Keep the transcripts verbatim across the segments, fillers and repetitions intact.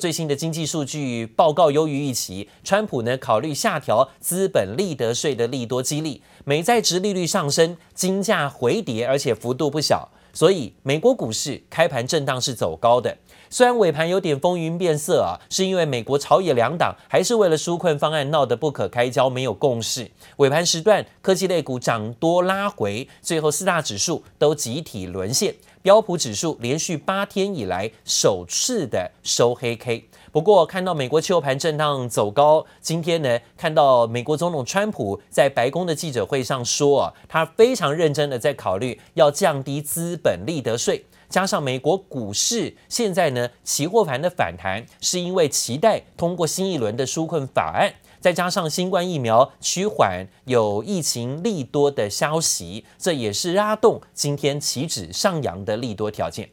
最新的經濟數據報告優於預期，川普呢考慮下調資本利得稅的利多激勵，美債殖利率上升，金價回跌，而且幅度不小。所以美國股市開盤震盪是走高的，雖然尾盤有點風雲變色啊，是因為美國朝野兩黨還是為了紓困方案鬧得不可開交，沒有共識。尾盤時段，科技類股漲多拉回，最後四大指數都集體淪陷，標普指數連續八天以來首次的收黑 K。不過，看到美國期貨盤震盪走高，今天呢，看到美國總統川普在白宮的記者會上說啊，他非常認真的在考慮要降低資本利得稅。加上美國股市現在呢，期貨盤的反彈，是因為期待通過新一輪的紓困法案，再加上新冠疫苗趨緩，有疫情利多的消息，這也是拉動今天期指上揚的利多條件。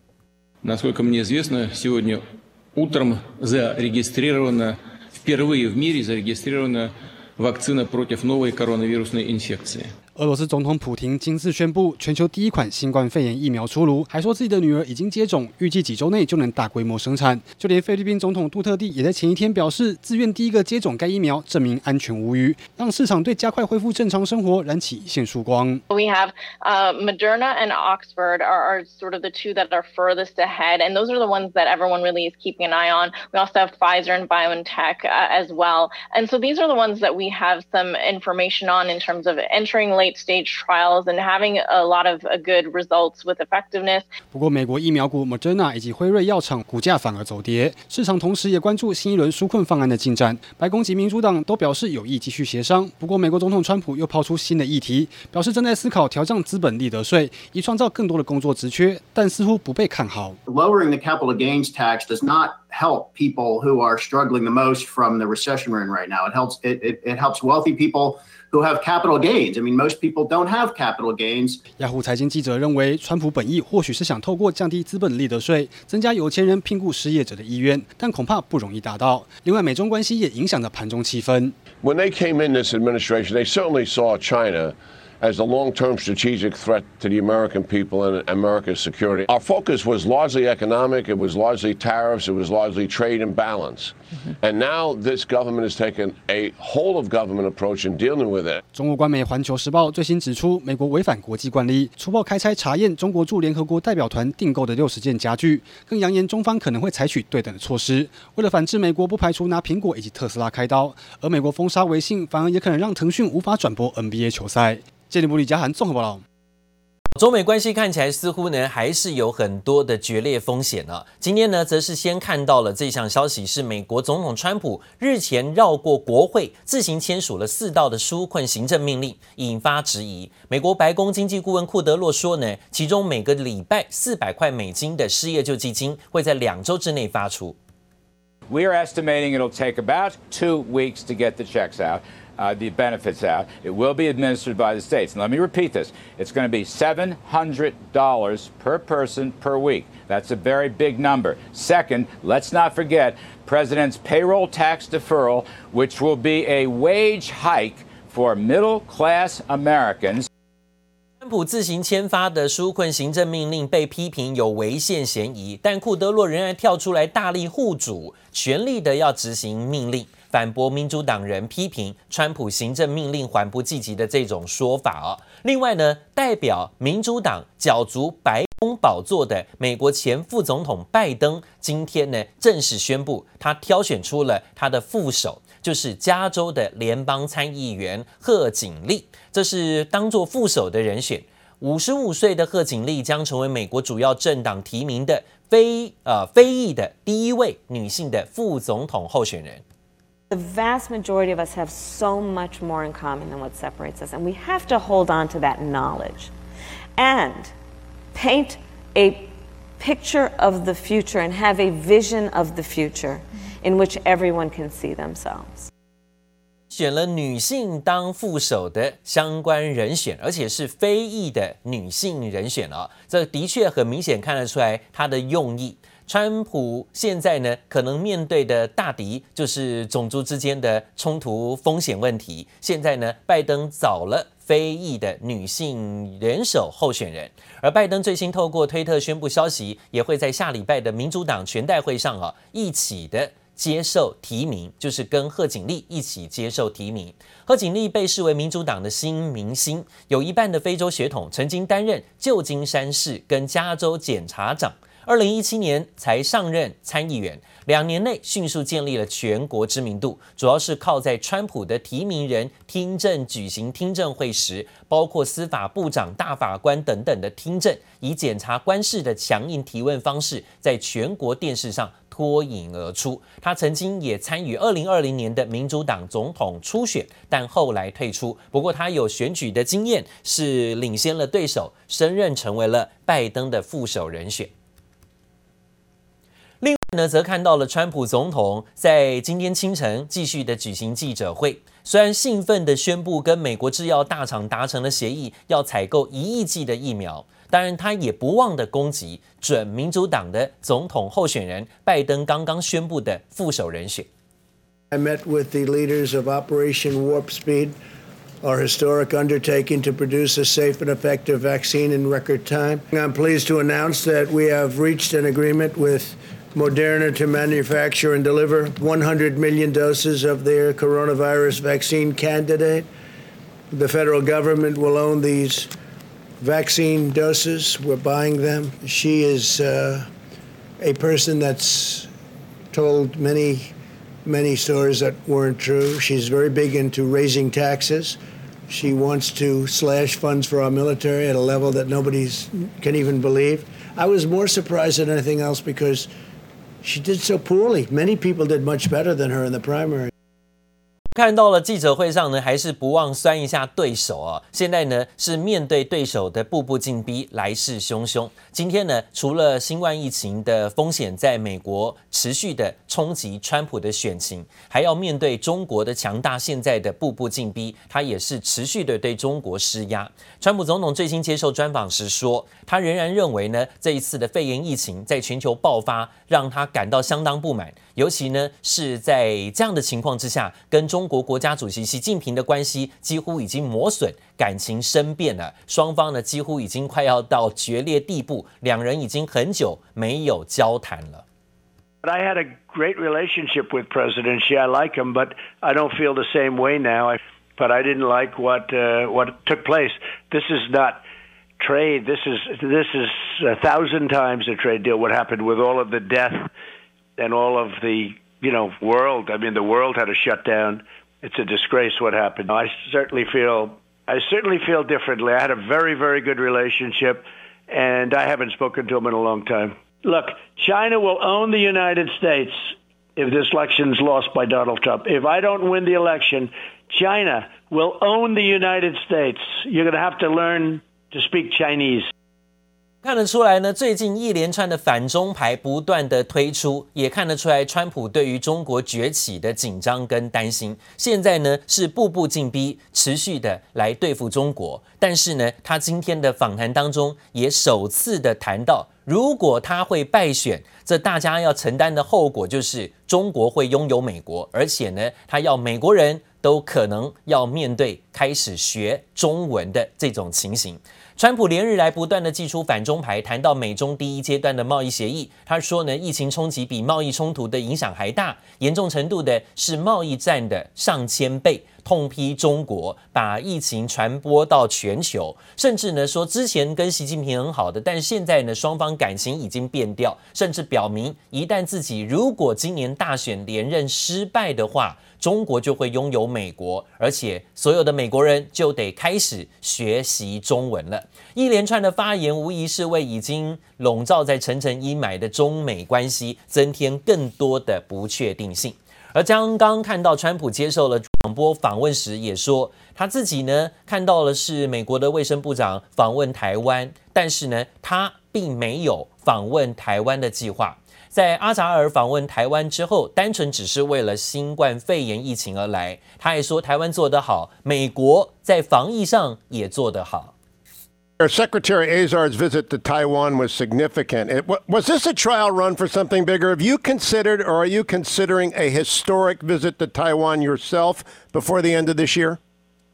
Утром зарегистрирована, впервые в мире зарегистрирована вакцина против новой коронавирусной инфекции. 俄羅斯总統普廷今次宣布，全球第一款新冠肺炎疫苗出爐，還說自己的女兒已經接種，預計幾週內就能大規模生產。就連菲律賓總統杜特地也在前一天表示，自願第一個接種該疫苗，證明安全無虞，讓市場對加快恢復正常生活燃起一線曙光。 We have uh, Moderna and Oxford are, are sort of the two that are furthest ahead, and those are the ones that everyone really is keeping an eye on. We also have Pfizer and BioNTech uh, as well, and so these are the ones that we have some information on in terms of entering late stage trials and having a lot of good results with effectiveness. 不過，美國疫苗股 Moderna 以及輝瑞藥廠股價反而走跌，市場同時也關注新一輪紓困方案的進展。白宮及民主黨都表示有意繼續協商。不過，美國總統川普又拋出新的議題，表示正在思考調降資本利得稅，以創造更多的工作職缺，但似乎不被看好。 Lowering the capital gains tax does not help people who are struggling the most from the recession we're in right now. It helps it, it, it helps wealthy people who have capital gains. I mean, most people don't have capital gains. 雅虎財經記者認為，川普本意或許是想透過降低資本利得稅，增加有錢人聘僱失業者的意願，但恐怕不容易達到。另外，美中關係也影響着盤中氣氛。 When they came in this administration, they certainly saw China as a long-term strategic threat to the American people and America's security. Our focus was largely economic, it was largely tariffs, it was largely trade and balance. Mm-hmm. And now this government has taken a whole-of-government approach in dealing with it. 中国官媒《環球時報》最新指出，美國違反國際慣例，粗暴開拆查驗中國駐聯合國代表團訂購的六十件家具，更揚言中方可能會採取對等的措施。為了反制美國，不排除拿蘋果以及特斯拉開刀，而美國封殺微信，反而也可能讓騰訊無法轉播 N B A 球賽。謝里姆李嘉涵綜合報道。 中美關係看起來似乎呢還是有很多的決裂風險啊。今天呢，則是先看到了這項消息，是美國總統川普日前繞過國會，自行簽署了四道的紓困行政命令，引發質疑。美國白宮經濟顧問庫德洛說呢，其中每個禮拜四百塊美金的失業救濟金會在兩週之內發出。 We are estimating it'll take about two weeks to get the checks out. Uh, the benefits out. It will be administered by the states. And let me repeat this. It's going to be seven hundred dollars per person per week. That's a very big number. Second, let's not forget President's payroll tax deferral, which will be a wage hike for middle-class Americans. 川普自行簽發的紓困行政命令被批評有違憲嫌疑，但庫德洛仍然跳出來大力護主，全力的要執行命令。反駁民主黨人批評川普行政命令緩不濟急的這種說法啊。另外呢，代表民主黨角逐白宮寶座的美國前副總統拜登，今天呢正式宣布，他挑選出了他的副手，就是加州的聯邦參議員賀錦麗，這是當作副手的人選。五十五歲的賀錦麗將成為美國主要政黨提名的非呃非裔的第一位女性的副總統候選人。 The vast majority of us have so much more in common than what separates us, and we have to hold on to that knowledge and paint a picture of the future and have a vision of the future in which everyone can see themselves. 選了女性當副手的相關人選，而且是非裔的女性人選啊，這的確很明顯看得出來她的用意。川普現在呢，可能面對的大敵就是種族之間的衝突風險問題。現在呢，拜登找了非裔的女性元首候選人。而拜登最新透過推特宣布消息，也會在下禮拜的民主黨全代會上啊一起的接受提名，就是跟賀錦麗一起接受提名。賀錦麗被視為民主黨的新明星，有一半的非洲血統，曾經擔任舊金山市跟加州檢察長。二零一七年才上任參議員，兩年內迅速建立了全國知名度，主要是靠在川普的提名人聽證舉行聽證會時，包括司法部長、大法官等等的聽證，以檢察官式的強硬提問方式，在全國電視上脫穎而出。他曾經也參與二零二零年的民主黨總統初選，但後來退出。不過他有選舉的經驗，是領先了對手，升任成為了拜登的副手人選。另外呢，則看到了川普總統在今天清晨繼續的舉行記者會，雖然興奮的宣布跟美國製藥大廠達成了協議，要採購一億劑的疫苗。當然，他也不忘的攻擊準民主黨的總統候選人拜登剛剛宣布的副手人選。 I met with the leaders of Operation Warp Speed, our historic undertaking to produce a safe and effective vaccine in record time. I'm pleased to announce that we have reached an agreement with Moderna to manufacture and deliver one hundred million doses of their coronavirus vaccine candidate. The federal government will own these vaccine doses. We're buying them. She is uh, a person that's told many, many stories that weren't true. She's very big into raising taxes. She wants to slash funds for our military at a level that nobody can even believe. I was more surprised than anything else because she did so poorly. Many people did much better than her in the primary. 看到了記者會上呢，還是不忘酸一下對手啊。現在呢是面對對手的步步進逼，來勢洶洶。今天呢，除了新冠疫情的風險在美國持續的衝擊川普的選情，還要面對中國的強大，現在的步步進逼，他也是持續的對中國施壓。川普總統最新接受專訪時說，他仍然認為呢，這一次的肺炎疫情在全球爆發，讓他感到相當不滿，尤其呢是在這樣的情況之下，跟中國國家主席習近平的關係幾乎已經磨損，感情生變了，雙方呢幾乎已經快要到決裂地步，兩人已經很久沒有交談了。 I had a great relationship with President Xi. I like him, but I don't feel the same way now. I, but I didn't like what uh, what took place. This is not trade. This is this is a thousand times a trade deal. What happened with all of the death and all of the you know world. I mean, the world had to shut down. It's a disgrace what happened. I certainly feel I certainly feel differently. I had a very very good relationship, and I haven't spoken to him in a long time. Look, China will own the United States if this election is lost by Donald Trump. If I don't win the election, China will own the United States. You're going to have to learn to speak Chinese. 看得出來呢，最近一連串的反中牌不斷的推出，也看得出來川普對於中國崛起的緊張跟擔心。現在呢是步步進逼，持續的來對付中國。但是呢，他今天的訪談當中也首次的談到，如果他會敗選，這大家要承擔的後果就是中國會擁有美國，而且呢，他要美國人都可能要面對開始學中文的這種情形。川普連日來不斷的祭出反中牌，談到美中第一階段的貿易協議。他說呢，疫情衝擊比貿易衝突的影響還大，嚴重程度的是貿易戰的上千倍，痛批中國把疫情傳播到全球，甚至呢說之前跟習近平很好的，但現在呢雙方感情已經變調，甚至表明一旦自己如果今年大選連任失敗的話，中國就會擁有美國，而且所有的美國人就得開始學習中文了。一連串的發言無疑是為已經籠罩在層層陰霾的中美關係增添更多的不確定性。而剛剛看到川普接受了廣播訪問時也說，他自己呢看到的是美國的衛生部長訪問台灣，但是呢他並沒有訪問台灣的計劃。在阿扎爾訪問台灣之後，單純只是為了新冠肺炎疫情而來。他還說台灣做得好，美國在防疫上也做得好。 Secretary Azar's visit to Taiwan was significant. It, was this a trial run for something bigger? Have you considered or are you considering a historic visit to Taiwan yourself before the end of this year?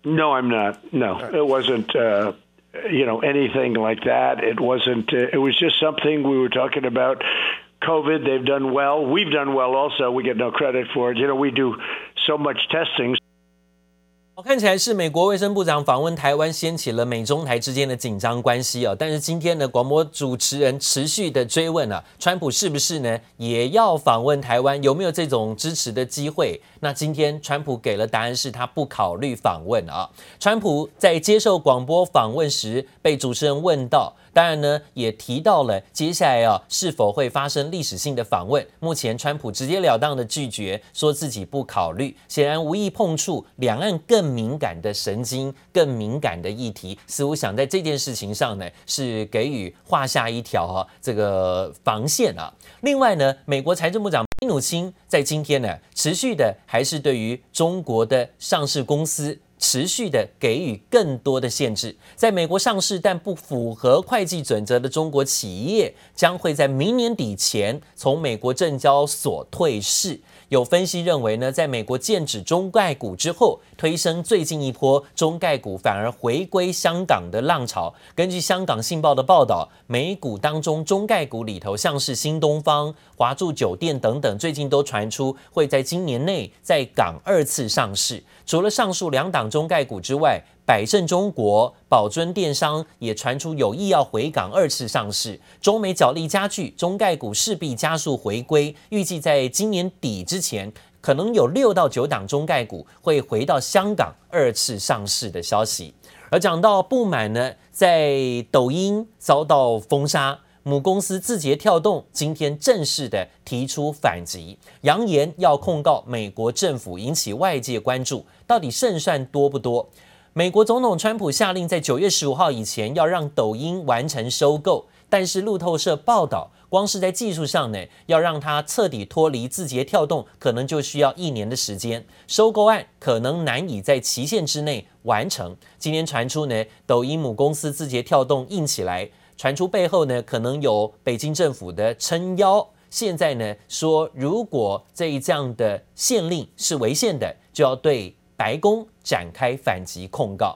No, I'm not. No, it wasn't. Uh, you know, anything like that. It wasn't. Uh, it was just something we were talking about. COVID, they've done well. We've done well also. We get no credit for it. You know, we do so much testing. 看起來是美國衛生部長訪問台灣，掀起了美中台之間的緊張關係啊。但是今天呢，廣播主持人持續的追問啊，川普是不是呢也要訪問台灣？有沒有這種支持的機會？那今天川普給了答案，是他不考慮訪問啊。川普在接受廣播訪問時，被主持人問到。當然呢，也提到了接下來啊是否會發生歷史性的訪問。目前川普直截了當的拒絕，說自己不考慮，顯然無意碰觸兩岸更敏感的神經、更敏感的議題，似乎想在這件事情上呢是給予畫下一條啊這個防線啊。另外呢，美國財政部長皮努欽在今天呢持續的還是對於中國的上市公司。持續的給予更多的限制，在美國上市但不符合會計準則的中國企業，將會在明年底前從美國證交所退市。有分析認為呢，在美國禁止中概股之後，推升最近一波中概股反而回歸香港的浪潮。根據香港信報的報道，美股當中中概股裡頭，像是新東方、華住酒店等等，最近都傳出會在今年內在港二次上市。除了上述兩檔中概股之外，百勝中國、寶尊電商也傳出有意要回港二次上市。中美角力加劇，中概股勢必加速回歸，預計在今年底之前，可能有六到九檔中概股會回到香港二次上市的消息。而講到不滿呢，在抖音遭到封殺。母公司字節跳動今天正式的提出反擊，揚言要控告美國政府，引起外界關注，到底勝算多不多？美國總統川普下令在九月十五號以前要讓抖音完成收購，但是路透社報道，光是在技術上呢，要讓它徹底脫離字節跳動，可能就需要一年的時間，收購案可能難以在期限之內完成。今天傳出呢，抖音母公司字節跳動硬起來。傳出背後呢，可能有北京政府的撐腰。現在呢，說如果這一這樣的限令是違憲的，就要對白宮展開反擊控告。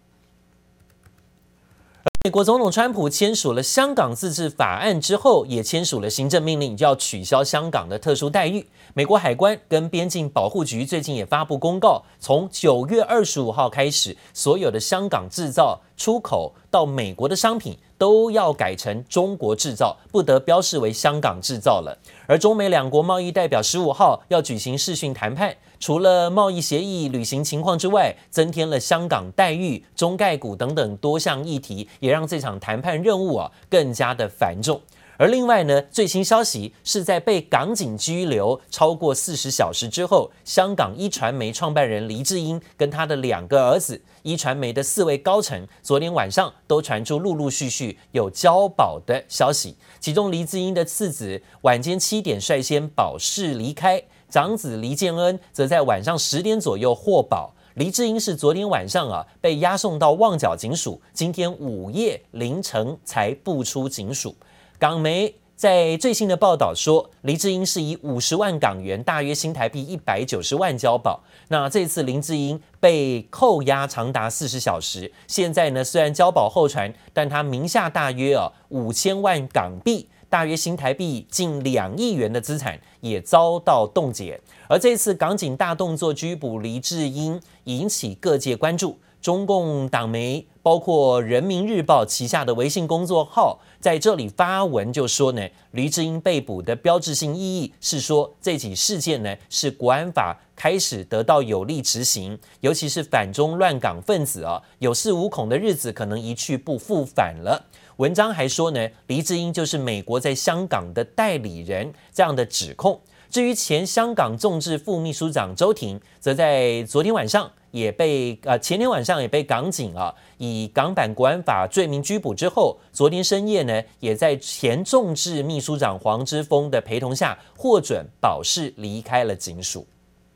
美國總統川普簽署了香港自治法案之後，也簽署了行政命令，就要取消香港的特殊待遇。美國海關跟邊境保護局最近也發布公告，從九月二十五號開始，所有的香港製造出口到美國的商品都要改成中國製造，不得標示為香港製造了。而中美兩國貿易代表十五號要舉行視訊談判，除了貿易協議履行情況之外，增添了香港待遇、中概股等等多項議題，也讓這場談判任務啊更加的繁重。而另外呢，最新消息是在被港警拘留超過四十小時之後，香港一傳媒創辦人黎智英跟他的兩個兒子，一傳媒的四位高層，昨天晚上都傳出陸陸續續有交保的消息。其中黎智英的次子晚間七點率先保釋離開，長子黎建恩則在晚上十點左右獲保。黎智英是昨天晚上啊被押送到旺角警署，今天午夜凌晨才步出警署。港媒在最新的報道說，黎智英是以五十萬港元，大約新台幣一百九十萬交保。那這次林智英被扣押長達四十小時，現在呢雖然交保候傳，但他名下大約啊五千萬港幣，大約新台幣近兩億元的資產也遭到凍結。而這次港警大動作拘捕黎智英，引起各界關注。中共黨媒包括人民日報旗下的微信公作號在這裡發文就說呢，黎智英被捕的標誌性意義是說，這起事件呢是國安法開始得到有力執行，尤其是反中亂港分子啊，有恃無恐的日子可能一去不復返了。文章還說呢，黎智英就是美國在香港的代理人，這樣的指控。至於前香港眾志副秘書長周庭，則在昨天晚上也被呃前天晚上也被港警啊以港版國安法罪名拘捕之後，昨天深夜呢，也在前眾志秘書長黃之鋒的陪同下獲准保釋離開了警署。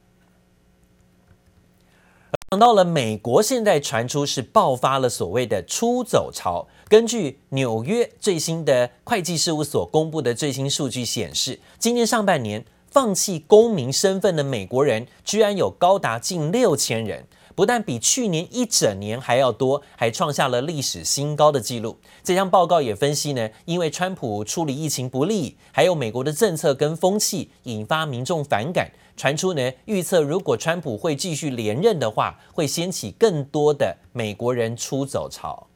講到了美國，現在傳出是爆發了所謂的出走潮。根據紐約最新的會計事務所公布的最新數據顯示，今年上半年放棄公民身份的美國人居然有高達近六千人。 不但比去年一整年還要多，還創下了歷史新高的紀錄。這項報告也分析呢，因為川普處理疫情不力，還有美國的政策跟風氣引發民眾反感，傳出呢預測如果川普會繼續連任的話，會掀起更多的美國人出走潮。